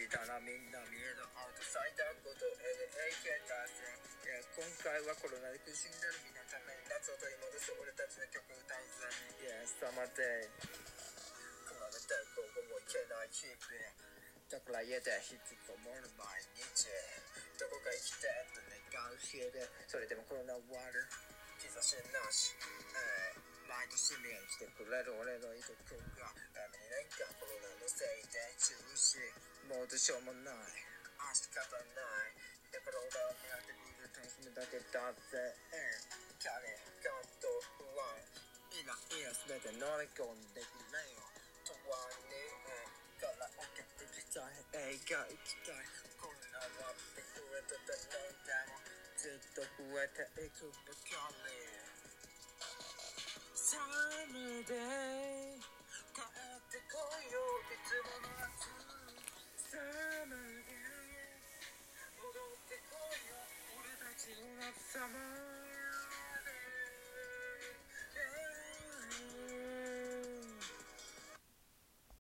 たらみんな見えるアウトサイダーことLAK 達成。今回はコロナで苦しんでるみんなために夏を取り戻す俺たちの曲歌うぜ。サマーデイ比べてここもいけない日々だから家でひつこもる毎日どこか行きたいと願う日でそれでもコロナ終わる兆しなし毎年見に来てくれる俺のいとこが2年間コロナのせいで中止もうどうしようもない仕方ないだから俺は目当てにいる楽しむだけだぜ彼感と不安イライラ全て乗り込んでくれよ永遠にカラオケ行きたい映画行きたいコロナは増えてて何でもずっと増えていくばかりSummer day 帰ってこいよいつもの夏 Summer day 踊ってこいよ俺たちの夏 Summer